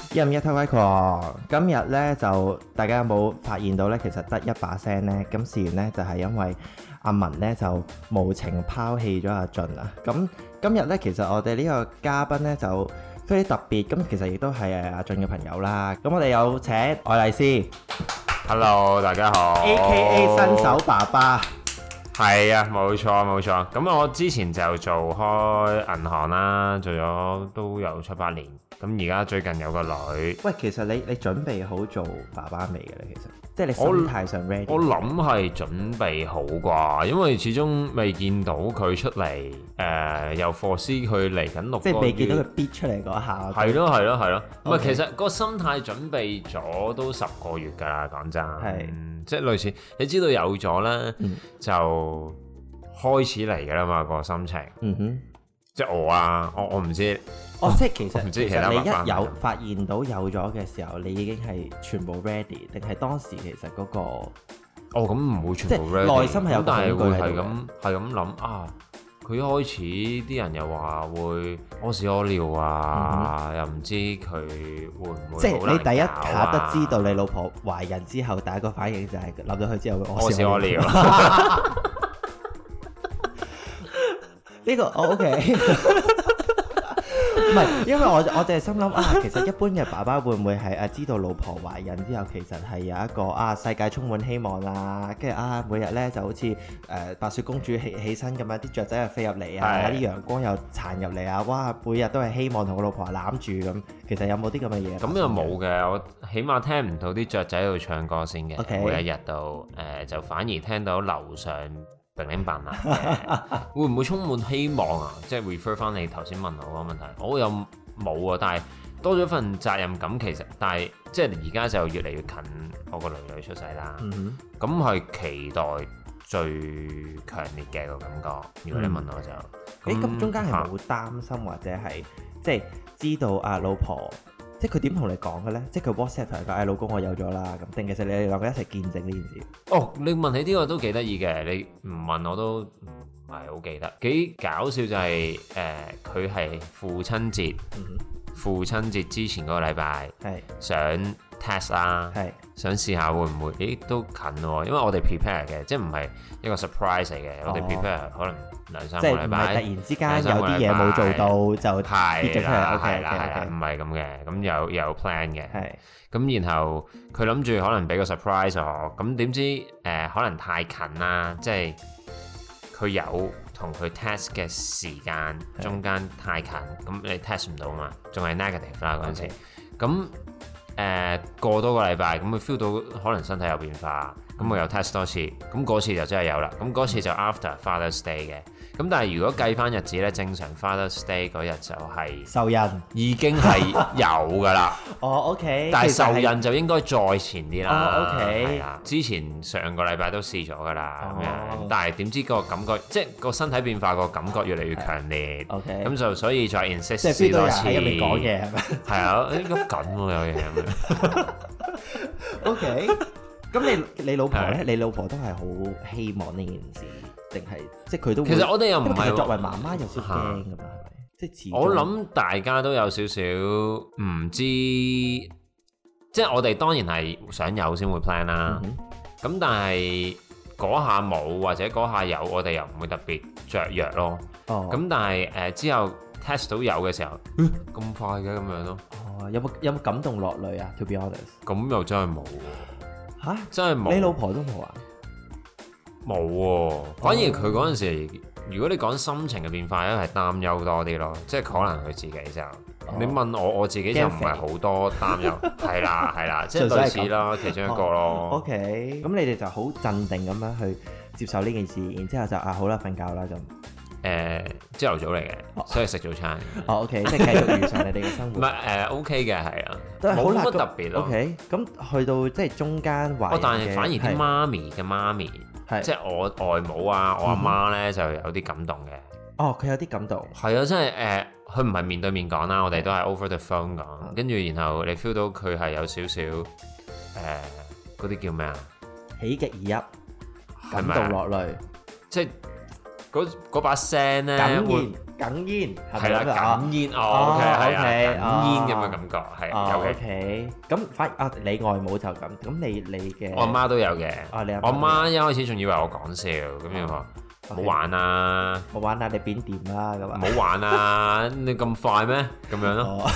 一五一推威狂，今日咧就大家有冇發現到咧？其實得一把聲咧，咁事緣咧就係因為阿文咧就無情拋棄咗阿俊啊。咁今日咧其實我哋呢個嘉賓咧就非常特別，咁其實亦都係阿俊嘅朋友啦。咁我哋有請愛麗絲 ，Hello， 大家好 ，A.K.A 新手爸爸。 係啊，冇錯冇錯。咁我之前就做開銀行啦，做咗都有7-8年。咁而家最近有個女。 喂，其實你準備好做爸爸未嘅咧？其實即係你心態上 ready。 我諗係準備好啩，因為始終未見到佢出嚟，又 foresee 佢嚟緊6個月， 即係未見到佢逼出嚟嗰下。 係咯係咯係咯。唔係 Okay. 其實個心態準備咗都10個月㗎啦，講真。 係。 即係類似，你知道有咗咧，就開始嚟㗎啦嘛個心情。 嗯哼。 即係我啊，我唔知。 即係其實你一有爸爸發現到有咗嘅時候，你已經係全部 ready，定係當時其實嗰個咁唔會全部 ready， 即係內心係有但係會係咁諗啊！佢一開始啲人又話會屙屎屙尿啊，又唔知佢會唔會即係你第一下下得知道你老婆懷孕之後，第一個反應就係諗到佢之後會屙屎屙尿。 呢個OK。唔係，因為我就係心諗其實一般嘅爸爸會唔會係知道老婆懷孕之後，其實係有一個世界充滿希望啦，跟住每日咧就好似白雪公主起身咁樣，啲雀仔又飛入嚟啊，啲陽光又殘入嚟啊，哇！每日都係希望同個老婆攬住咁，其實有冇啲咁嘅嘢？ 咁又冇嘅，我起碼聽唔到啲雀仔喺度唱歌先嘅。 Okay. 每一日都就反而聽到樓上零零扮嘅，會唔會充滿希望啊？即係 refer 翻你頭先問我個問題，我又冇啊，但係多咗份責任感，其實，但係即係而家就越嚟越近我個女出世啦。咁係期待最強烈嘅個感覺。如果你問我就， 咁中間係冇擔心或者係即係知道老婆，即係佢點同你講嘅咧？即係佢 WhatsApp 同你講，老公我有咗啦，咁定其實你哋兩個一齊見證呢件事？ 你問起呢個都幾得意嘅，你唔問我都唔係好記得。幾搞笑就係佢係父親節之前嗰個禮拜想 test 啦，想試下會唔會？都近喎，因為我哋 prepare 嘅，即係唔係一個 surprise 嚟嘅。我哋 prepare 可能2-3個禮拜， 即係唔係突然之間有啲嘢冇做到就跌咗出嚟。 係啦，唔係咁嘅，咁有 plan 嘅。咁然後佢諗住可能俾個 surprise 我，咁點知可能太近啦，即係佢有同佢 test 嘅時間中間太近，咁你 test 唔到嘛，仲係 negative 啦嗰陣時。咁過多個禮拜，咁佢 feel 到可能身體有變化，咁我又 test 多次，咁嗰次就真係有啦。咁嗰次就 after Father's Day 嘅。咁但係如果計翻日子咧，正常 Father's Day 嗰日就係受孕， 已經係有噶啦。 OK。 但係受孕就應該再前啲啦。 OK。 係啊，之前上個禮拜都試咗噶啦咁樣，但係點知個感覺，即係個身體變化個感覺越嚟越強烈。 OK。 咁就所以再 insist 即係試多次。 喺入面講嘢係咪？ 係啊，喐緊喎有嘢咁樣。 OK。咁你老婆咧？你老婆都係好希望呢件事，定係即係佢都會？ 其實我哋又唔係作為媽媽有少少驚㗎嘛，係咪？即係我諗大家都有少少唔知，即係我哋當然係想有先會 plan 啦。咁但係嗰下冇或者嗰下有，我哋又唔會特別雀躍咯。咁但係之後 test 到有嘅時候，咁快嘅咁樣咯。 有冇感動落淚啊？To be honest， 咁又真係冇喎。 嚇！ 真係冇。 你老婆都冇啊？ 冇喎，反而佢嗰陣時，如果你講心情嘅變化咧，係擔憂多啲咯，即係可能佢自己就，你問我自己就唔係好多擔憂，係啦，即係類似啦，其中一個咯。 OK，咁你哋就好鎮定咁樣去接受呢件事，然之後就好啦，瞓覺啦咁。 朝頭早嚟嘅，所以食早餐。 OK， 即係繼續如常你哋嘅生活。 唔係OK 嘅，係啊， 都係好冇乜特別咯。 OK，咁去到即係中間懷孕嘅， 但係反而啲媽咪，即係我外母啊，我阿媽咧就有啲感動嘅。 佢有啲感動。 係啊，真係佢唔係面對面講啦，我哋都係 over the phone 講，跟住然後你 feel 到佢係有少少嗰啲叫咩啊？ 喜極而泣，感動落淚， 即係嗰把聲咧， 哽咽係啦，哽咽，OK 係啊，哽咽咁嘅感覺係有嘅。 OK，咁你外母就咁，咁你嘅我阿媽都有嘅。我阿媽一開始仲以為我講笑，咁樣話冇玩啊， 冇玩啊，你變掂啦咁啊， 冇玩啊，你咁快咩？咁樣咯。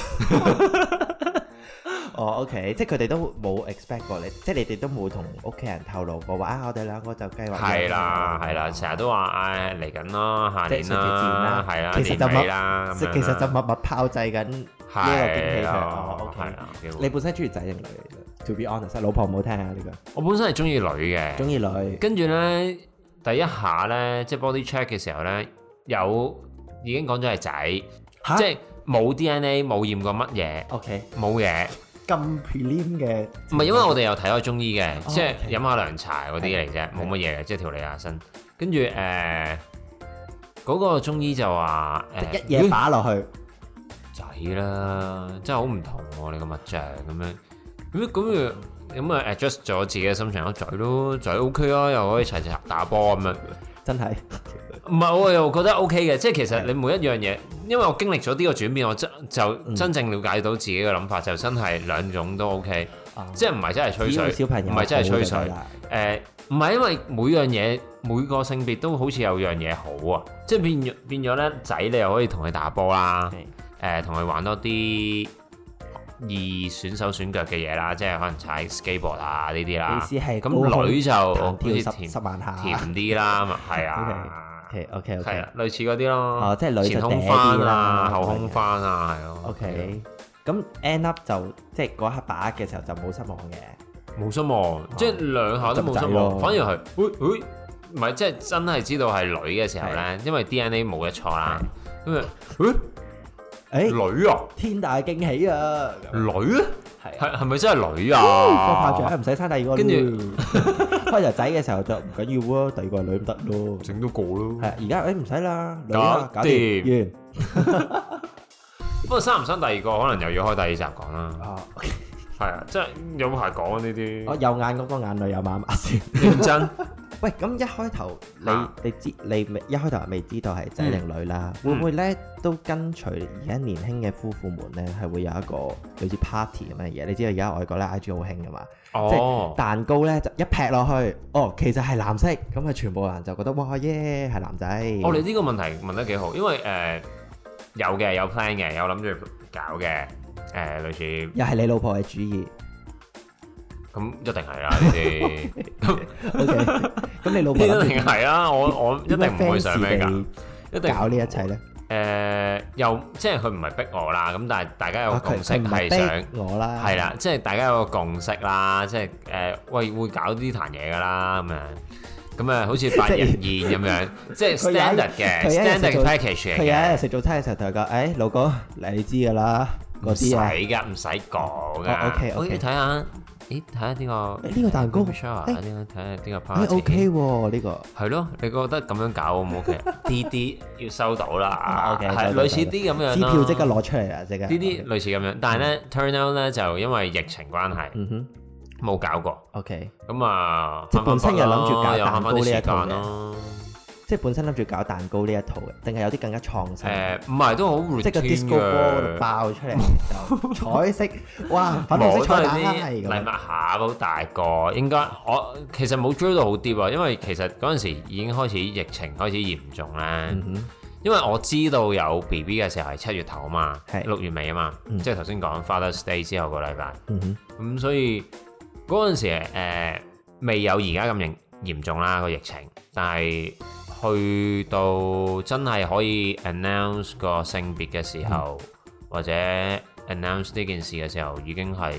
OK， 即係佢哋都冇 expect 過你，即係你哋都冇同屋企人透露過話我哋兩個就計劃。 係啦，成日都話嚟緊咯，下年啦，係啦， 其實就年尾啦， 其實就默默炮製緊呢個驚喜佢。OK，你本身中意仔定女嚟嘅 ？To be honest， 老婆唔好聽下呢個。 我本身係中意女嘅， 中意女。跟住咧，第一下咧，即係 body check 嘅時候咧，已經講咗係仔，即係冇 DNA， 冇驗過乜嘢。OK， 冇嘢。 咁 prelim 嘅， 唔係因為我哋有睇過中醫嘅，即係飲下涼茶嗰啲嚟啫，冇乜嘢嘅，即係調理下身。跟住嗰個中醫就話一嘢打落去仔啦，真係好唔同喎！你個脈象咁樣，咁啊 adjust 咗自己嘅心情，仔咯，仔 OK 啊，又可以齊齊打波咁樣， 真係。 唔係，我又覺得 OK 嘅，即係其實你每一樣嘢，因為我經歷咗呢個轉變，我就真正了解到自己嘅諗法，就真係兩種都 OK，即係唔係真係吹水，唔係真係吹水，唔係因為每樣嘢每個性別都好似有樣嘢好啊，即係變咗咧仔，你又可以同佢打波啦，同佢玩多啲易選手選腳嘅嘢啦，即係可能踩 skateboard 啊呢啲啦，咁女就好似甜啲啦，係啊。 OK， 係啊，類似嗰啲咯， 即係女前空翻啊，後空翻啊，係咯。 OK，咁 end up 就即係嗰一刻把握嘅時候就冇失望嘅， 冇失望，即係兩下都冇失望，反而係，唔係即係真係知道係女嘅時候咧，因為 DNA 冇得錯啦，咁啊，女啊， 天大驚喜啊， 女啊！係咪真係女啊？ 個炮仗唔使生第二個，跟住開頭仔嘅時候就唔緊要啊，第二個係女唔得咯， 整多個咯。 係而家唔使啦，女啊搞掂完。 不過生唔生第二個可能又要開第二集講啦。係啊，即係有排講呢啲。我右眼嗰個眼淚有麻麻先。 認真。 喂，咁一開頭你一開頭未知道係仔定女啦，會唔會咧都跟隨而家年輕嘅夫婦們咧係會有一個類似 party 咁嘅嘢？你知道而家外國咧 IG 好興噶嘛？即係蛋糕咧就一劈落去，其實係藍色，咁啊全部人就覺得哇耶係男仔。 你呢個問題問得幾好，因為有 plan 嘅，有諗住搞嘅，類似又係你老婆嘅主意。 咁一定係啦呢啲。 OK， 咁你老婆一定係啦，我一定唔會想咩㗎， 一定搞呢一切咧。 又即係佢唔係逼我啦，咁但係大家有個共識係想我啦， 係啦，即係大家有個共識啦，即係會搞呢壇嘢㗎啦咁啊，好似百人宴咁樣，即係 standard 嘅 standard package 嚟嘅。 佢有一日食早餐嘅時候同佢講：老公，你知㗎啦，嗰啲啊， 唔使講㗎。 OK， 睇下。睇下呢個蛋糕， 睇下呢個 party OK 喎，呢個係咯，你覺得咁樣搞好唔 OK？啲要收到啦 ，OK， 係類似啲咁樣支票即刻攞出嚟啦，即刻。 呢啲類似咁樣，但係咧 turn out 咧就因為疫情關係，冇搞過。 OK， 咁啊， 即係本身又諗住搞又蛋糕呢一套咯。 即係本身諗住搞蛋糕呢一套嘅，定係有啲更加創新？ 唔係都好 routine 嘅。 即係個 disco ball 爆出嚟就彩色，哇！粉紅色彩蛋係咁。 禮物下好大個，應該我其實冇追到好啲喎，因為其實嗰陣時已經開始疫情開始嚴重咧。因為我知道有 BB 嘅時候係7月頭啊嘛，6月尾啊嘛，即係頭先講 Father's Day 之後個禮拜。咁所以嗰陣時未有而家咁嚴重啦個疫情，但係去到真係可以 announce 個性別嘅時候，或者 announce 呢件事嘅時候，已經係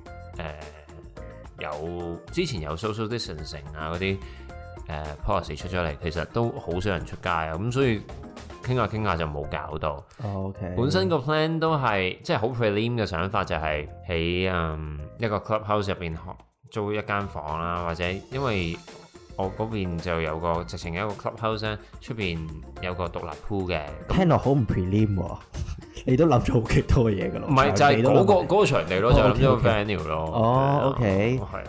有之前有 social distancing 啊嗰啲policy 出咗嚟，其實都好少人出街啊，咁所以傾下就冇搞到。 OK， 本身個 plan 都係即係好 prelim 嘅想法，就係喺一個 clubhouse 入邊租一間房啦，或者因為我嗰邊就有個直情有一個 clubhouse 咧，出邊有個獨立 pool 嘅。 聽落好唔 prelim 喎，你都諗咗好幾多嘢㗎咯。 唔係就係嗰個場地咯，就諗咗個 venue 咯。 OK， 係啊，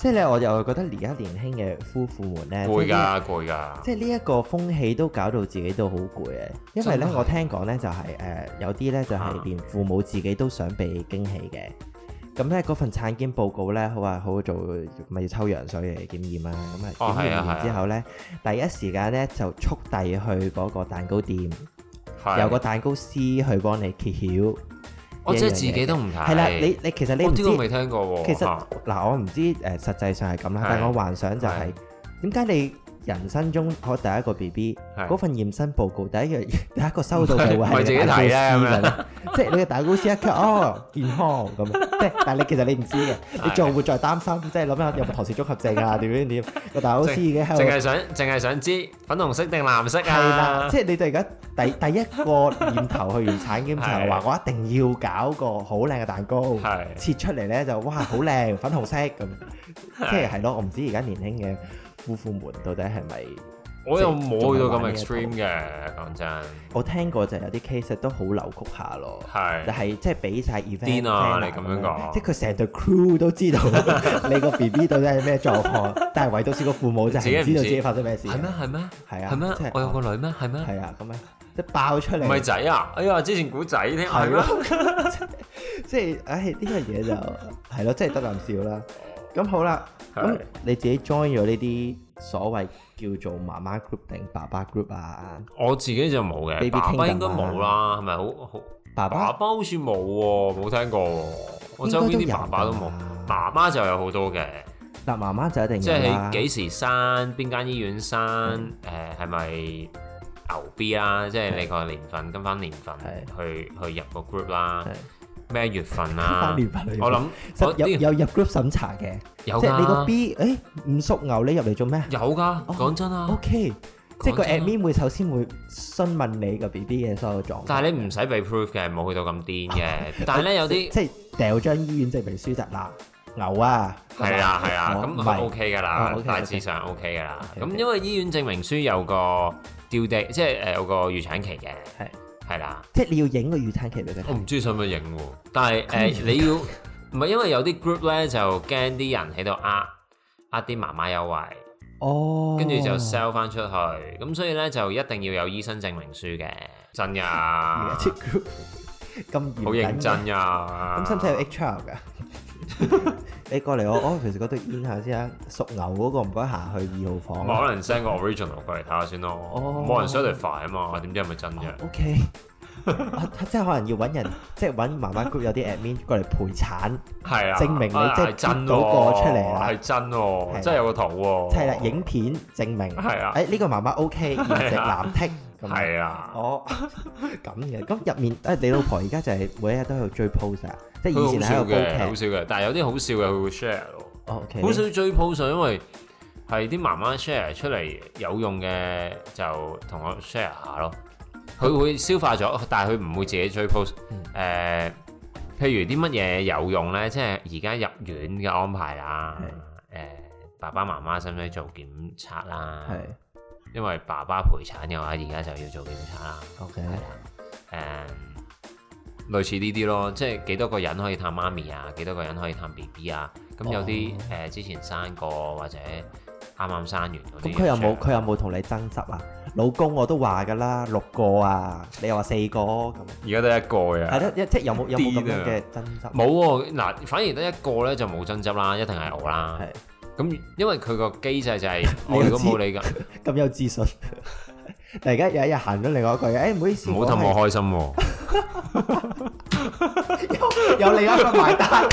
即係咧，我又覺得而家年輕嘅夫婦們咧， 攰㗎， 即係呢一個風氣都搞到自己都好攰嘅。因為咧，我聽講咧就係有啲咧就係連父母自己都想被驚喜嘅。咁咧嗰份產檢報告咧，好話好做，咪要抽羊水嚟檢驗啦。咁啊檢驗完之後咧，第一時間咧就速遞去嗰個蛋糕店，有個蛋糕師去幫你揭曉。 我即係自己都唔睇。 係啦，你其實你唔知， 我未聽過喎。 其實嗱，我唔知實際上係咁啦，但係我幻想就係點解你人生中我第一個 BB 嗰份驗身報告第一個收到嘅會係蛋糕師㗎，即係你嘅蛋糕師一咳健康咁，即係但係你其實你唔知嘅，你仲會再擔心，即係諗下有冇唐氏綜合症啊點個蛋糕師已經喺度， 淨係想知粉紅色定藍色啊？係啦，即係你哋而家第一個念頭去完產檢就係話我一定要搞個好靚嘅蛋糕，切出嚟咧就哇好靚粉紅色咁，即係咯，我唔知而家年輕嘅夫婦們到底係咪？ 我又冇去到咁 extreme 嘅，講真。 我聽過就有啲 case 都好扭曲下咯，但係即係俾晒 event 癲啊！你咁樣講， 即係佢成隊 crew 都知道你個 BB 到底係咩狀況，但係唯獨是個父母就係唔知道自己發生咩事。係咩？係啊！係咩？我有個女咩？係咩？係啊！咁樣即係爆出嚟。唔係仔啊！哎呀，之前估仔添。係咯。即係呢個嘢就係咯，即係得啖笑啦。咁好啦，咁你自己 join 咗呢啲所謂叫做媽媽 group 定爸爸 group 啊？ 我自己就冇嘅，爸爸應該冇啦，係咪好？爸爸好似冇喎，冇聽過喎。我周邊啲爸爸都冇，媽媽就有好多嘅。 嗱，媽媽就一定即係幾時生，邊間醫院生，係咪牛 B 啦？即係你個年份跟翻年份去入個 group 啦。咩月份啊？我諗有入 group 審查嘅，有即係你個 B， 唔屬牛，你入嚟做咩？ 有㗎，講真啊。 OK，即係個 admin 會首先會詢問你個 BB 嘅所有狀況。 但係你唔使被 proof 嘅，冇去到咁癲嘅。但係咧有啲即係掉張醫院證明書嗱牛啊， 係啊，咁係 OK 㗎啦，大致上 OK 㗎啦。咁因為醫院證明書有個 due date，即係有個預產期嘅。係啦， 即係你要影個預產期俾佢睇。 我唔知使唔使影喎，但係你要唔係因為有啲 group 咧就驚啲人喺度呃啲媽媽優惠，跟住就 sell 翻出去，咁所以咧就一定要有醫生證明書嘅，真呀， 咁好認真呀， 咁使唔使有 HR 㗎？你過嚟我 office 嗰度 in 下先啊，屬牛嗰個唔該行去2號房。 可能 send 個 original 過嚟睇下先咯，冇人 certify 啊嘛，點知係咪真嘅 ？OK，即係可能要揾人，即係揾媽媽 group 有啲 admin 過嚟陪產，係啊，證明你即係真嗰個出嚟啦， 係真喎，真係有個圖喎， 係啦，影片證明係啊，呢個媽媽 OK，顏值藍剔， 係啊， 咁嘅，咁入面你老婆而家就係每一日都喺度追 post 啊。即係以前喺度煲劇， 好笑嘅，但係有啲好笑嘅佢會 share 咯。 OK， 好少追 post，因為係啲媽媽 share 出嚟有用嘅就同我 share 下咯。佢會消化咗，但係佢唔會自己追 post。譬如啲乜嘢有用咧，即係而家入院嘅安排啦。爸爸媽媽使唔使做檢測啦？係，因為爸爸陪產嘅話，而家就要做檢測啦。 OK， 係啦，類似呢啲咯，即係幾多個人可以探媽咪啊？幾多個人可以探 BB 啊？咁有啲之前生過或者啱啱生完嗰啲， 咁佢有冇同你爭執啊？老公我都話㗎啦，6個啊，你又話4個咁。而家得1個呀。係咯，即係有冇咁樣嘅爭執？ 冇喎，嗱，反而得1個咧就冇爭執啦，一定係我啦。係。咁因為佢個機制就係我如果冇你㗎， 咁有自信。突然間有一日行咗另外一句，唔好意思， 唔好氹我開心喎。 有另一個埋單。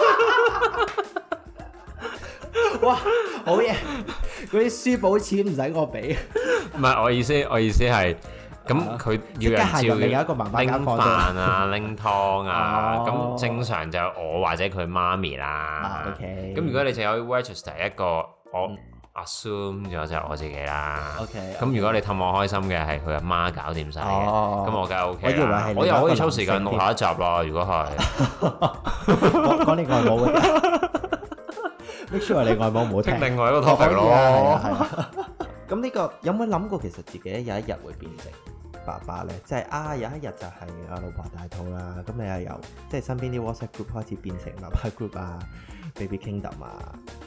哇，好嘢！嗰啲書簿錢唔使我俾。 唔係我意思係，咁佢要人照另一個媽媽拎飯啊、拎湯啊，咁正常就我或者佢媽咪啦。 OK。 咁如果你淨有 register 一個，我 assume 咗就我自己啦。 OK。 咁如果你氹我開心嘅係佢阿媽搞掂晒嘅，咁我梗係 OK 啦。 我又可以抽時間錄下一集啦。如果係講你外母嘅。make sure 你外母唔好聽另外一個 topic 咯。 咁呢個有冇諗過其實自己有一日會變成爸爸咧？即係有一日就係老婆大肚啦，咁你又由即係身邊啲 WhatsApp group 開始變成爸爸 group 啊、Baby Kingdom 啊，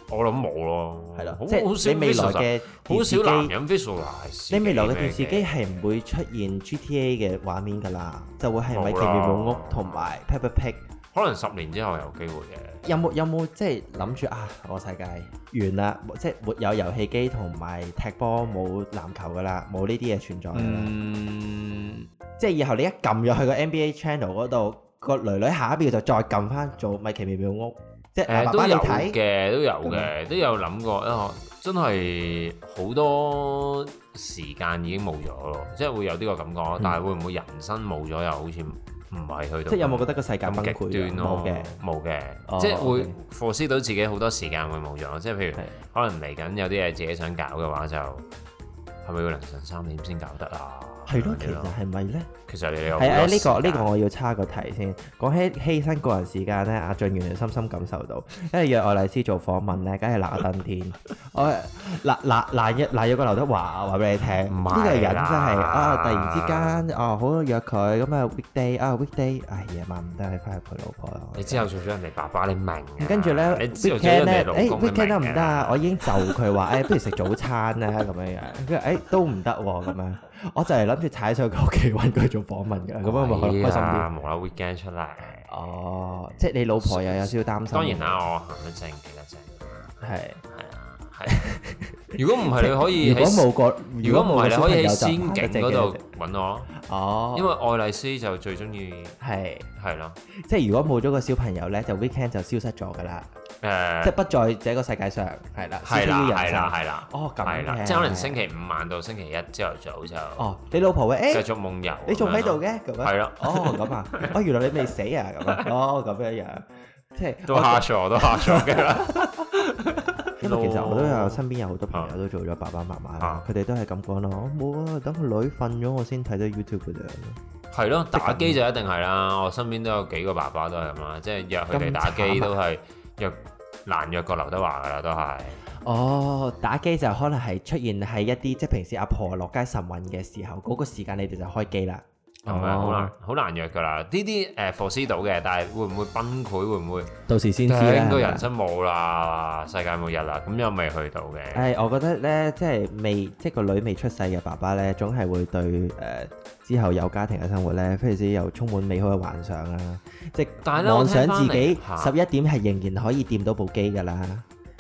我諗冇咯， 係咯，即係你未來嘅好少男人 visualize。 你未來嘅電視機係唔會出現 GTA 嘅畫面㗎啦，就會係米奇妙木屋同埋 Peppa Pig。 可能10年之後有機會嘅。 有冇即係諗住啊？我世界完啦，即係沒有遊戲機同埋踢波，冇籃球㗎啦，冇呢啲嘢存在㗎啦。即係以後你一撳入去個 NBA Channel 嗰度，個女女下一秒就再撳翻做米奇妙妙屋。即係爸爸你睇嘅，都有嘅，都有諗過。真係好多時間已經冇咗咯，即係會有呢個感覺。但係會唔會人生冇咗又好似唔係去到？ 即係有冇覺得個世界崩潰？ 極端咯，冇嘅，即係會 force 到自己好多時間會冇咗。即係譬如可能嚟緊有啲嘢自己想搞嘅話，就係咪要凌晨3點先搞得啊？ 係咯，其實係咪咧？ 其實你有係啊，呢個我要叉個題先。講起犧牲個人時間咧，阿俊原來深深感受到，因為約愛麗絲做訪問咧，梗係嗱登天。我嗱約個劉德華話俾你聽，呢個人真係啊！突然之間好約佢咁啊 weekday，夜晚唔得，你翻去陪老婆啦。 你之後做咗人哋爸爸，你明？ 跟住咧 weekend 咧，weekend 得唔得啊？我已經就佢話不如食早餐啦咁樣樣。跟住都唔得喎咁樣。我就係諗住踩上佢屋企揾佢做訪問㗎，咁樣咪開心啲。 無啦 weekend 出嚟。 哦，即係你老婆又有少少擔心。 當然啦，我行得正企得正。係啊。如果唔係你可以，如果唔係你可以喺仙境嗰度揾我。哦。因為愛麗絲就最中意係咯。 即係如果冇咗個小朋友咧，就 weekend 就消失咗㗎啦。即係不在這個世界上，係啦， 係啦， 哦咁嘅， 即係可能星期5晚到星期1朝頭早就， 你老婆會繼續夢遊， 你仲喺度嘅咁樣， 係咯， 咁啊，原來你未死啊咁啊，咁樣，即係都嚇咗嘅啦。 因為其實我都有身邊有好多朋友都做咗爸爸媽媽啦，佢哋都係咁講咯，我冇啊，等個女瞓咗我先睇到 YouTube 嗰陣。 係咯，打機就一定係啦，我身邊都有幾個爸爸都係咁啦，即係約佢哋打機都係難約過劉德華㗎啦，都係。 打機就可能係出現喺一啲即係平時阿婆落街晨運嘅時候，嗰個時間你哋就開機啦。 好難約㗎啦。呢啲force 到嘅，但係會唔會崩潰？會唔會到時先知啦。 應該人生冇啦，世界末日啦，咁又未去到嘅。 我覺得咧，即係個女未出世嘅爸爸咧，總係會對之後有家庭嘅生活咧，非常之又充滿美好嘅幻想啦。即係妄想自己11點係仍然可以掂到部機㗎啦。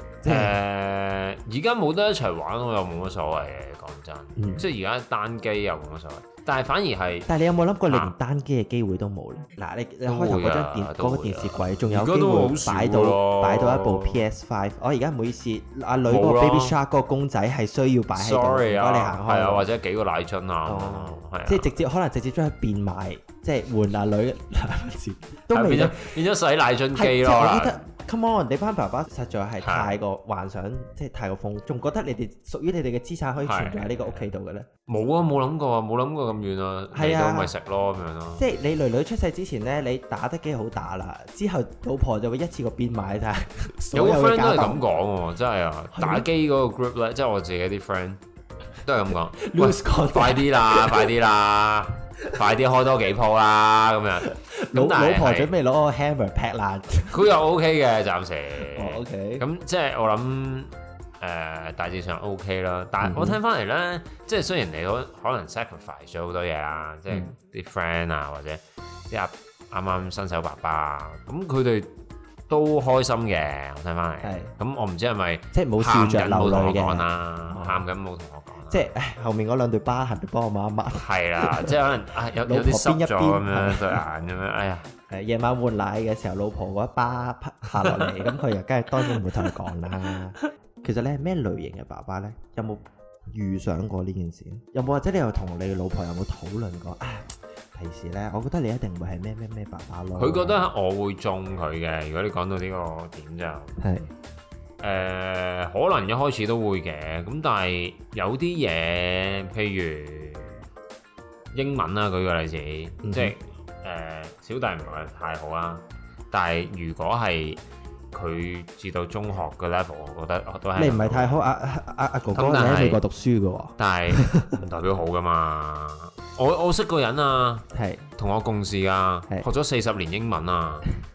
而家冇得一齊玩，我又冇乜所謂嘅。講真，即係而家單機又冇乜所謂。但係反而係， 但係你有冇諗過你連單機嘅機會都冇咧？嗱，你開頭嗰個電視櫃仲有機會擺到一部 PS5。我而家唔好意思，阿女嗰個 Baby Shark 嗰個公仔係需要擺喺度，唔該你行開。 係啊，或者幾個奶樽啊， 即係可能直接將佢變賣，即係換阿女都未變咗洗奶樽機咯。 我覺得 Come on， 你班爸爸實在係太過幻想，即係太過瘋，仲覺得你哋屬於你哋嘅資產可以存在喺呢個屋企度嘅咧？ 冇啊，冇諗過咁遠啊，嚟到咪食咯咁樣咯。 即係你女女出世之前咧，你打得幾好打啦，之後老婆就會一次過變賣晒。 有個 friend 都係咁講喎，真係啊！打機嗰個 group 咧，即係我自己啲 friend 都係咁講。快啲啦！快啲開多幾鋪啦咁樣。 老婆準備攞個 hammer 劈爛。 佢又 OK 嘅，暫時。 OK。 咁即係我諗大致上 OK 啦。但係我聽翻嚟咧，即係雖然你可能 sacrifice 咗好多嘢啦，即係啲 friend 啊，或者啲啱啱新手爸爸啊，咁佢哋都開心嘅。我聽翻嚟。係。咁我唔知係咪即係冇笑着流淚嘅。 喊緊冇同我講。 即係後面嗰兩對疤痕都幫我抹一抹。 係啦，即係可能有啲濕咗咁樣對眼咁樣，哎呀！ 夜晚換奶嘅時候，老婆嗰一巴拍落嚟，咁佢又梗係當然唔會同佢講啦。其實你係咩類型嘅爸爸咧？有冇預想過呢件事？有冇或者你又同你老婆有冇討論過？平時咧，我覺得你一定會係咩爸爸咯。 佢覺得我會中佢嘅。如果你講到呢個點就係。可能一開始都會嘅，咁但係有啲嘢，譬如英文啦，舉個例子，即係小弟唔係太好啦，但係如果係佢至到中學嘅 level，我覺得都係你唔係太好。阿哥哥你喺美國讀書嘅喎，但係唔代表好噶嘛。我識個人啊，係同我共事啊，學咗40年英文啊。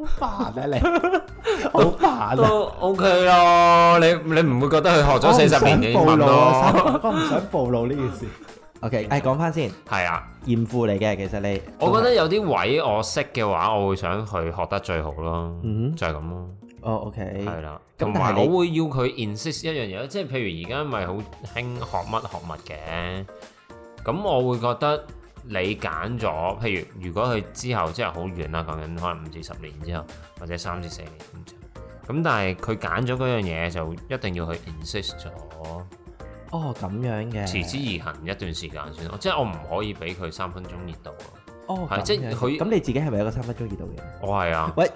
煩啊你，好煩啊！ 都 OK 咯，你唔會覺得佢學咗40年嘅英文咯？ 我唔想暴露呢件事。OK， 講翻先。 係啊， 嚴父嚟嘅，其實你。 我覺得有啲位我識嘅話，我會想佢學得最好咯。就係咁咯。 哦 ，OK。 係啦，同埋我會要佢 insist 一樣嘢，即係譬如而家咪好興學乜嘅，咁我會覺得你揀咗，譬如果佢之後即係好遠啦，講緊可能5至10年之後，或者3至4年咁但係佢揀咗嗰樣嘢就一定要去 insist 咗。 哦，咁樣嘅。持之以恆一段時間先咯，即係我唔可以俾佢3分鐘熱度咯。 哦，係即係佢。咁你自己係咪有個3分鐘熱度嘅？ 我係啊。 喂。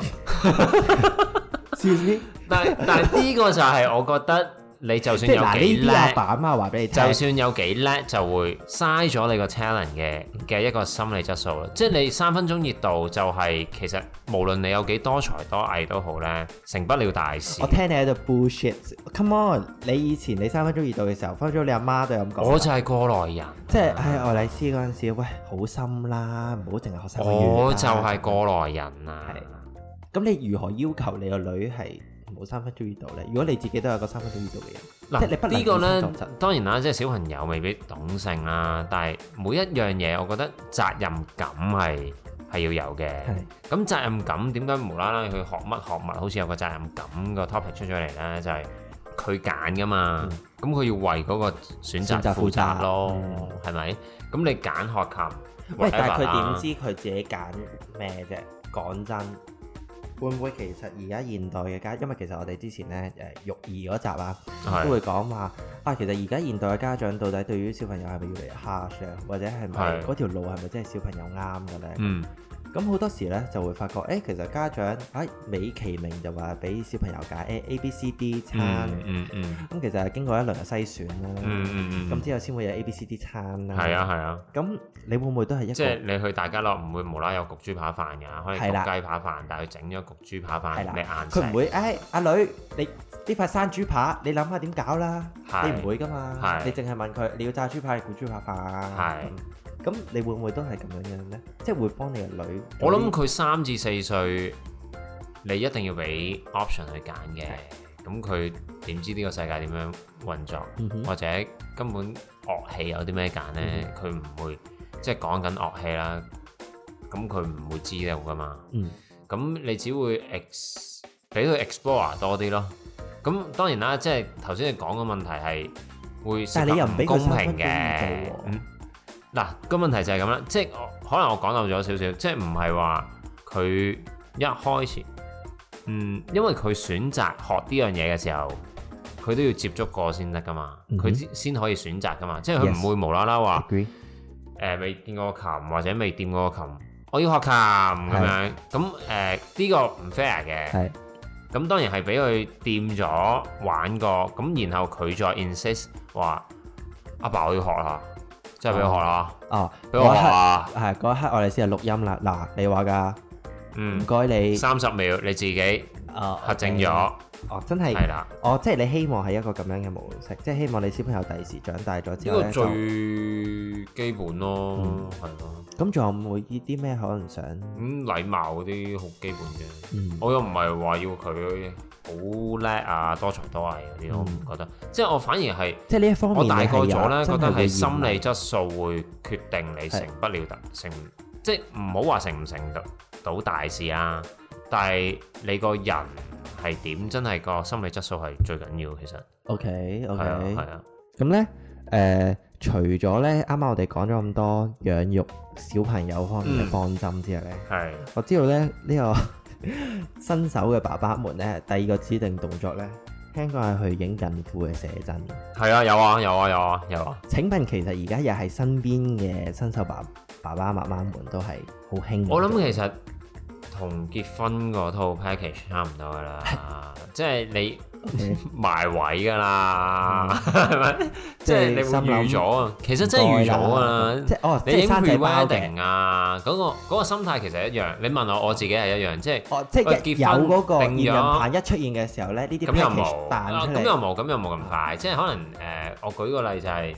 但係呢個就係我覺得你就算有幾叻， 阿爸阿媽話俾你聽， 就算有幾叻就會嘥咗你個 talent 嘅一個心理質素啦。即係你3分鐘熱度就係其實無論你有幾多才多藝都好咧，成不了大事。 我聽你喺度 bullshit。Come on， 你以前你3分鐘熱度嘅時候，分咗你阿媽都有咁講。 我就係過來人， 即係喺愛麗絲嗰陣時，喂，好深啦，唔好淨係學3個月。 我就係過來人啊。 咁你如何要求你個女係冇3分鐘熱度咧？如果你自己都有個3分鐘熱度嘅人，即係你不能呢個咧，當然啦，即係小朋友未必懂性啦，但係每一樣嘢，我覺得責任感係要有嘅。咁責任感點解無啦啦佢學乜，好似有個責任感個 topic 出咗嚟咧？就係佢揀噶嘛，咁佢要為嗰個選擇負責咯，係咪？咁你揀學琴， 喂，但係佢點知佢自己揀咩啫？講真。會唔會其實而家現代嘅家，因為其實我哋之前咧育兒嗰集啊，都會講話其實而家現代嘅家長到底對於小朋友係咪越嚟越 harsh 啊，或者係咪嗰條路係咪真係小朋友啱嘅咧？咁好多時咧就會發覺，其實家長美其名就話俾小朋友揀 A、B、C、D 餐，咁其實係經過一輪嘅篩選啦，咁之後先會有 A、B、C、D 餐啦。係啊。咁你會唔會都係一個？即係你去大家樂唔會無啦有焗豬扒飯㗎，可以焗雞扒飯，但係佢整咗焗豬扒飯，你硬食。 佢唔會阿女，你呢塊生豬扒，你諗下點搞啦？你唔會㗎嘛？你淨係問佢，你要炸豬扒定焗豬扒飯？咁你會唔會都係咁樣咧？即係會幫你個女？ 我諗佢3至4歲，你一定要俾 option 去揀嘅。咁佢點知呢個世界點樣運作？或者根本樂器有啲咩揀咧？佢唔會即係講緊樂器啦。咁佢唔會知道噶嘛。咁你只會俾佢 explore 多啲咯。咁當然啦，即係頭先你講嘅問題係會涉及唔公平嘅。嗱，個問題就係咁啦，即係可能我講漏咗少少，即係唔係話佢一開始，因為佢選擇學呢樣嘢嘅時候，佢都要接觸過先得噶嘛，佢先可以選擇噶嘛，即係佢唔會無啦啦話未見過琴或者未掂過琴，我要學琴咁樣，咁呢個唔 fair 嘅，咁當然係俾佢掂咗玩過，咁然後佢再 insist 話阿爸我要學啦。即係俾我學啦，俾我學啊！ 係嗰一刻我哋先係錄音啦。嗱，你話㗎，唔該你 30秒你自己核證咗。 真係係啦。 即係你希望係一個咁樣嘅模式，即係希望你小朋友第時長大咗之後咧， 呢個最基本咯，係咯。 咁仲有冇啲咩可能想？ 禮貌嗰啲好基本嘅。我又唔係話要佢好叻啊，多才多藝嗰啲，我唔覺得。即係我反而係， 即係呢一方面， 我大個咗咧，覺得係心理質素會決定你成不了即係唔好話成唔成到大事啊。但係你個人係點，真係個心理質素係最緊要。其實 OK 係啊。 咁咧除咗咧啱啱我哋講咗咁多養育小朋友方面嘅方針之後咧，我知道咧呢個新手嘅爸爸們咧，第二個指定動作咧，聽講係去影孕婦嘅寫真。 係啊，有啊。 請問其實而家又係身邊嘅新手爸爸媽媽們都係好興。我諗其實同結婚嗰套 package 差唔多噶啦，即係你埋位噶啦，係咪？即係你會預咗啊？其實真係預咗啊！你影 pre-wedding 啊，嗰個心態其實一樣。你問我自己係一樣，即係有嗰個驗孕棒一出現嘅時候咧，呢啲 package 彈出嚟。 咁又冇咁快。即係可能我舉個例就係開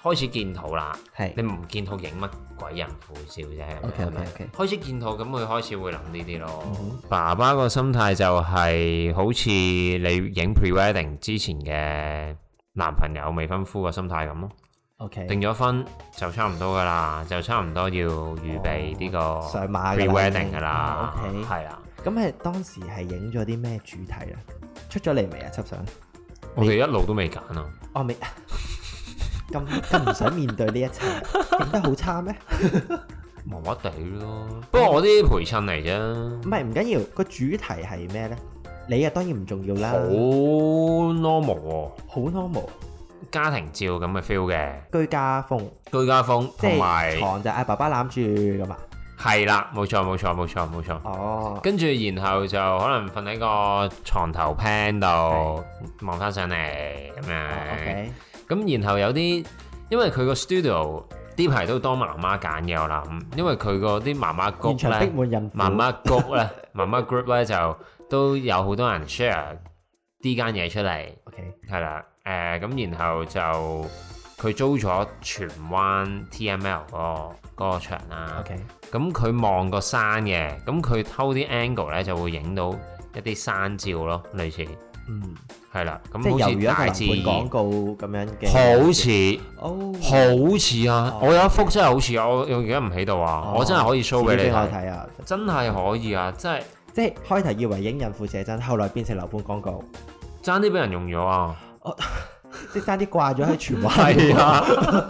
開始見肚啦， 係你唔見肚影乜鬼孕婦照啫。 OK。 開始見肚咁佢開始會諗呢啲咯。爸爸個心態就係好似你影 pre-wedding 之前嘅男朋友未婚夫個心態咁咯。 OK， 定咗婚就差唔多噶啦，就差唔多要預備呢個上馬 pre-wedding 噶啦。 OK， 係啦。 咁係當時係影咗啲咩主題咧？出咗嚟未啊？輯相我哋一路都未揀啊。 哦，未咁唔想面對呢一切，影得好差咩？ 麻麻地咯。不過我啲陪襯嚟啫。 唔係唔緊要，個主題係咩咧？你啊當然唔重要啦。 好 normal 喎。 好 normal。 家庭照咁嘅 feel 嘅。 居家風。 居家風， 即同埋係床就嗌爸爸攬住咁啊。 係啦，冇錯。 哦。 跟住然後就可能瞓喺個床頭 pan 度望翻上嚟咁樣。 OK。 咁然後有啲，因為佢個 studio 呢排都多媽媽揀嘅，我諗，因為佢個啲媽媽谷咧，媽媽谷咧，媽媽 group 咧就都有好多人 share 呢間嘢出嚟。 OK。 係啦，咁然後就佢租咗荃灣 TML 嗰個場啦。 OK。 咁佢望個山嘅，咁佢偷啲 angle 咧就會影到一啲山照咯，類似。係啦，咁好似大自然廣告咁樣嘅， 好似啊！我有一幅真係好似，我而家唔喺度啊！我真係可以 show 俾你睇啊！ 真係可以啊！ 即係開頭以為影孕婦寫真，後來變成樓盤廣告， 爭啲俾人用咗啊！ 即係爭啲掛咗喺荃灣， 係啊，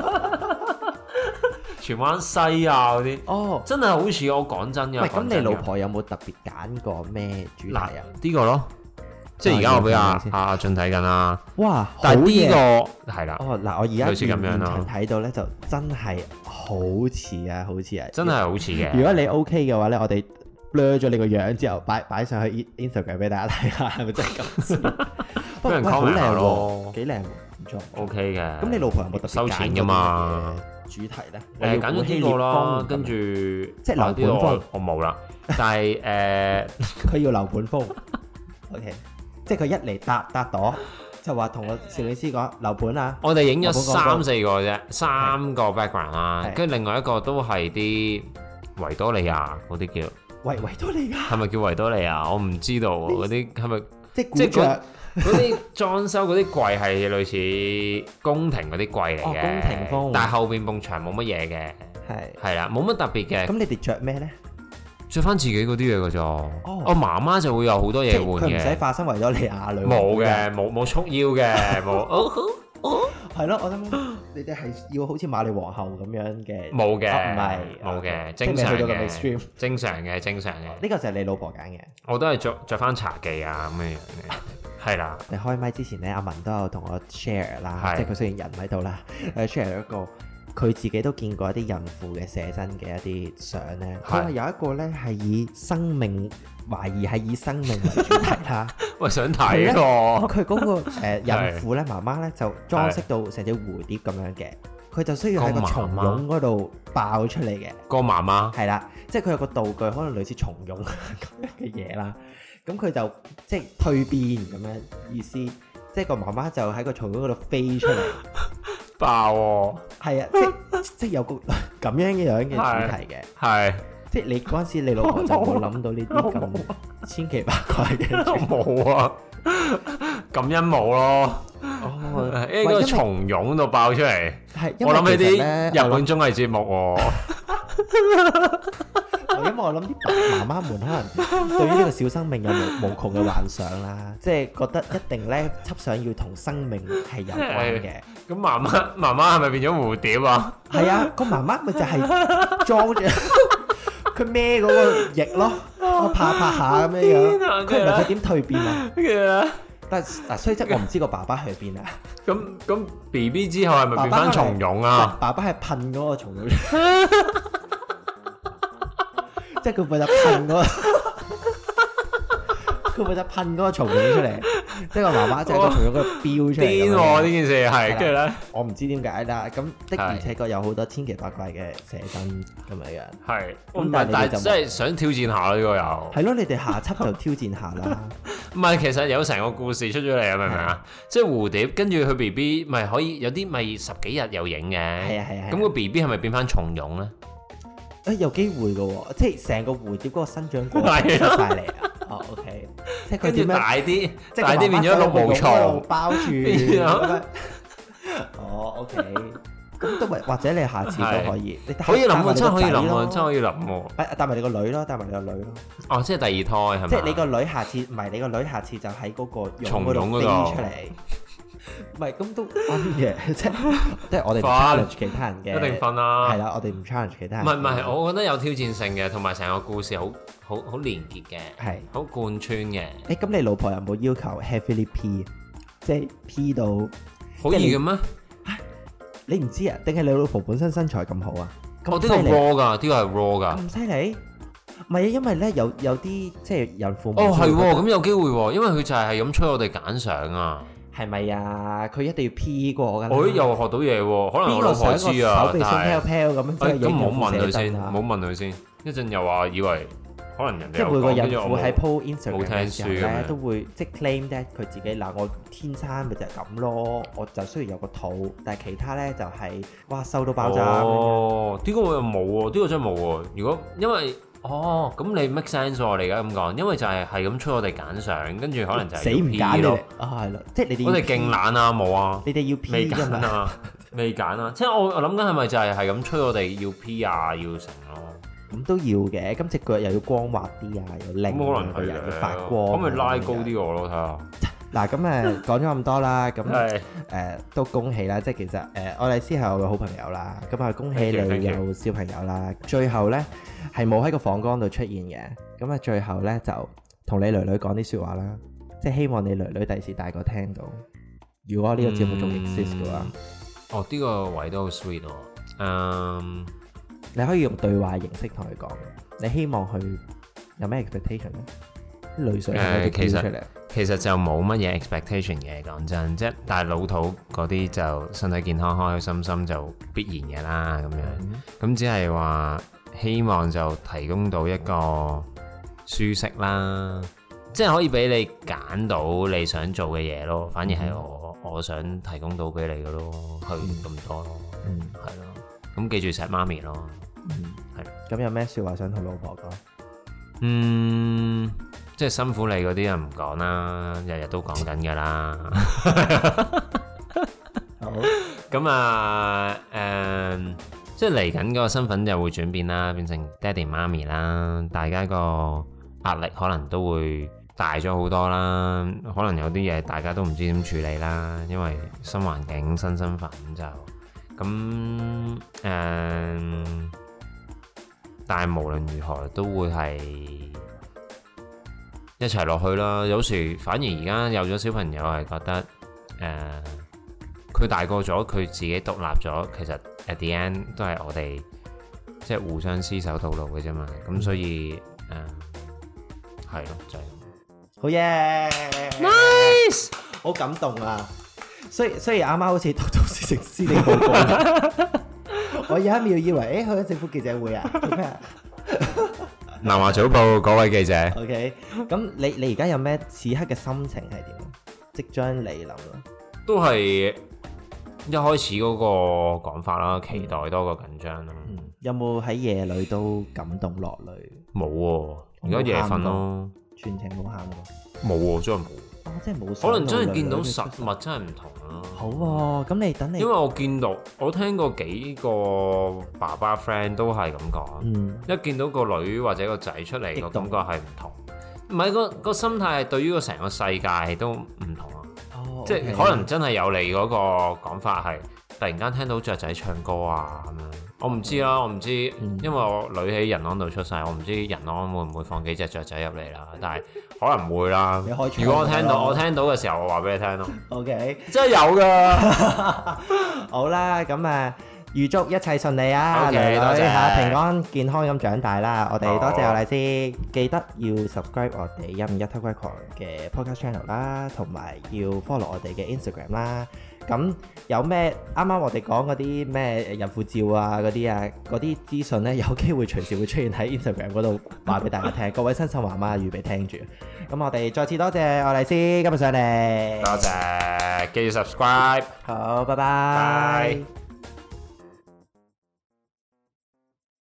荃灣西啊嗰啲，真係好似我講真嘅。 喂，咁你老婆有冇特別揀過咩主題啊？ 呢個咯。即係而家我俾阿俊睇緊啦。 哇！ 但係呢個係啦。 哦，嗱，我而家類似咁樣咯。 睇到咧就真係好似啊，好似啊， 真係好似嘅。 如果你 OK 嘅話咧，我哋 blur 咗你個樣之後，擺上去 Instagram 俾大家睇下，係咪真係咁似？ 俾人 comment 下咯， 幾靚，唔錯。 OK 嘅。 咁你老婆有冇特別收錢㗎嘛？ 主題咧？ 揀咗呢個啦，跟住即係樓盤風， 我冇啦。但係佢要樓盤風。OK。即係佢一嚟搭朵，就話同個攝影師講樓盤啊。 我哋影咗3-4個啫，3個 background 啦，跟住另外一個都係啲維多利亞嗰啲叫維多利亞， 係咪叫維多利亞？我唔知道喎，嗰啲係咪即係嗰啲裝修嗰啲櫃係類似宮廷嗰啲櫃嚟嘅， 宮廷風， 但係後邊埲牆冇乜嘢嘅，係啦，冇乜特別嘅。 咁你哋着咩咧？ 着翻自己嗰啲嘢㗎咋？我媽媽就會有好多嘢換嘅。 佢唔使化身維多利亞女。 冇嘅，冇束腰嘅，冇。 係咯，我諗你哋係要好似瑪麗皇后咁樣嘅。 冇嘅， 唔係冇嘅，正常嘅，正常嘅。 呢個就係你老婆揀嘅。我都係着翻茶記啊咁樣嘅，係啦。 你開麥之前咧，阿文都有同我 share 啦，即係佢雖然人唔喺度啦，share 一個。佢自己都見過一啲孕婦嘅寫真嘅一啲相咧，佢話有一個咧係以生命懷疑係以生命為主題啦。 喂，想睇喎！ 佢嗰個孕婦咧，媽媽咧就裝飾到成隻蝴蝶咁樣嘅，佢就需要喺個松茸嗰度爆出嚟嘅。 個媽媽係啦，即係佢有個道具，可能類似松茸咁樣嘅嘢啦。咁佢就即係蛻變咁樣意思，即係個媽媽就喺個松茸嗰度飛出嚟。 爆喎！ 係啊，即係有個咁樣嘅主題嘅， 係即係你嗰陣時，你老婆就冇諗到呢啲咁千奇百怪嘅。 冇啊，咁陰冇咯。呢個松茸度爆出嚟，我諗起啲日本綜藝節目喎。 因為我諗啲媽媽們可能對於呢個小生命有無窮嘅幻想啦，即係覺得一定咧輯相要同生命係有關嘅。 咁媽媽係咪變咗蝴蝶啊？ 係啊，個媽媽咪就係裝住佢孭嗰個翼咯，我拍下咁樣樣。佢唔係佢點蛻變啊？但嗱，雖則我唔知個爸爸去邊啊。 咁 BB 之後係咪變翻松茸啊？ 爸爸係噴嗰個松茸。即係佢負責噴嗰個松茸出嚟， 即係個媽媽就係個從咗個標出嚟。 癲喎呢件事係，跟住咧， 我唔知點解啦。咁的而且確有好多千奇百怪嘅寫真咁樣樣。 係，但係真係想挑戰下呢個又。 係咯，你哋下輯就挑戰下啦。 唔係，其實有成個故事出咗嚟啊，明唔明啊？即係蝴蝶，跟住佢 B B 咪可以有啲咪10幾日有影嘅。 係啊。 咁個 B B 係咪變翻松蛹咧？ 有機會嘅喎，即係成個蝴蝶嗰個生長過程出晒嚟啊！哦，OK， 即係佢點樣大啲， 即係大啲變咗綠毛蟲包住。哦，OK，咁都咪或者你下次都可以，你可以諗喎，真係可以諗喎，真係可以諗喎。 帶埋你個女咯，帶埋你個女咯。 哦，即係第二胎係咪？ 即係你個女下次唔係你個女下次就喺嗰個松蛹嗰度飛出嚟。唔係咁都分嘅，即係我哋唔 challenge 其他人嘅， 一定分啦。 係啦，我哋唔 challenge 其他人。 唔係，我覺得有挑戰性嘅，同埋成個故事好連結嘅， 係好貫穿嘅。 咁你老婆有冇要求 heavily P， 即係 P 到好易嘅咩？ 你唔知啊？定係你老婆本身身材咁好啊？ 呢個 raw 㗎，呢個係 raw 㗎。 咁犀利？唔係啊，因為咧有啲即係孕婦。 哦，係喎，咁有機會喎，因為佢就係咁催我哋揀相啊。 係咪啊？佢一定要 P 過㗎。 我又學到嘢喎，可能我老婆知啊， 手臂鬆飄飄咁樣， 咁唔好問佢先，唔好問佢先。一陣又話以為可能人哋即係每個孕婦喺 po 冇 Instagram 嘅時候咧，都會即係 claim that 佢自己嗱，我天生咪就係咁咯，我就雖然有個肚，但係其他咧就係哇瘦到爆炸。 哦，呢個我又冇喎，呢個真係冇喎。如果因為咁你 make sense 喎，你而家咁講，因為就係咁催我哋揀相，跟住可能就係死唔揀咯。係啦，即係你哋我哋勁懶啊，冇啊， 你哋要 P 未揀啊，未揀啊，即係我諗緊係咪就係咁催我哋要 P 啊，要成咯。 咁都要嘅，咁隻腳又要光滑啲啊，又靚， 可能個人要發光。 咁咪拉高啲我咯，睇下。 嗱，咁講咗咁多啦，咁都恭喜啦！即係其實愛麗絲係我嘅好朋友啦，咁啊恭喜你有小朋友啦。最後咧係冇喺個訪綱度出現嘅，咁啊最後咧就同你女女講啲説話啦，即係希望你女女第時大個聽到。如果呢個節目仲 exist 嘅話， 呢個位都好 sweet 喎。 你可以用對話形式同佢講，你希望佢有咩 expectation 咧？淚水係咪出嚟？ 其實就冇乜嘢 expectation 嘅，講真，即係但係老土嗰啲就身體健康、開開心心就必然嘅啦，咁樣。咁只係話希望就提供到一個舒適啦，即係可以俾你揀到你想做嘅嘢咯。反而係我想提供到俾你嘅咯，去咁多咯，係咯。咁記住錫媽咪咯，係。 咁有咩説話想同老婆講？ 即係辛苦你嗰啲就唔講啦，日日都講緊㗎啦。 好。 咁啊，即係嚟緊個身份就會轉變啦，變成爹哋媽咪啦，大家個壓力可能都會大咗好多啦。可能有啲嘢大家都唔知點處理啦，因為新環境、新身份就咁但係無論如何都會係一齊落去啦。有時反而而家有咗小朋友係覺得佢大個咗，佢自己獨立咗，其實 at the end 都係我哋即係互相廝守到老嘅啫嘛。咁所以係咯，就係咁。 好嘢 ，nice， 好感動啊！雖然啱啱好似讀到施政報告，我有一秒以為去咗政府記者會啊，做咩啊？ 南華早報嗰位記者 ，OK， 咁你而家有咩此刻嘅心情係點？即將嚟臨啦，都係一開始嗰個講法啦，期待多過緊張啦。 有冇喺夜裏都感動落淚？ 冇喎，而家夜瞓咯， 全程冇喊過。 冇喎，真係冇。 真係冇。 可能真係見到實物真係唔同啦。 好喎，咁你等你。因為我聽過幾個爸爸 friend 都係咁講，一見到個女或者個仔出嚟個感覺係唔同，唔係個心態係對於個成個世界都唔同啊。即係可能真係有你嗰個講法係突然間聽到雀仔唱歌啊咁樣。我唔知啦，我唔知，因為我女喺仁安度出世，我唔知仁安會唔會放幾隻雀仔入嚟啦。但係可能唔會啦。如果我聽到嘅時候，我話俾你聽咯。OK， 真係有㗎。 好啦，咁預祝一切順利啊，女女嚇平安健康咁長大啦！我哋多謝我麗絲，記得要 subscribe 我哋一五一偷窺狂嘅 podcast channel 啦，同埋要 follow 我哋嘅 Instagram 啦。咁有咩啱啱我哋講嗰啲咩孕婦照啊嗰啲資訊咧，有機會隨時會出現喺 Instagram 嗰度話俾大家聽。各位新手媽媽預備聽住。咁我哋再次多謝愛麗絲今日上嚟， 多謝，記住 subscribe。 好，拜拜。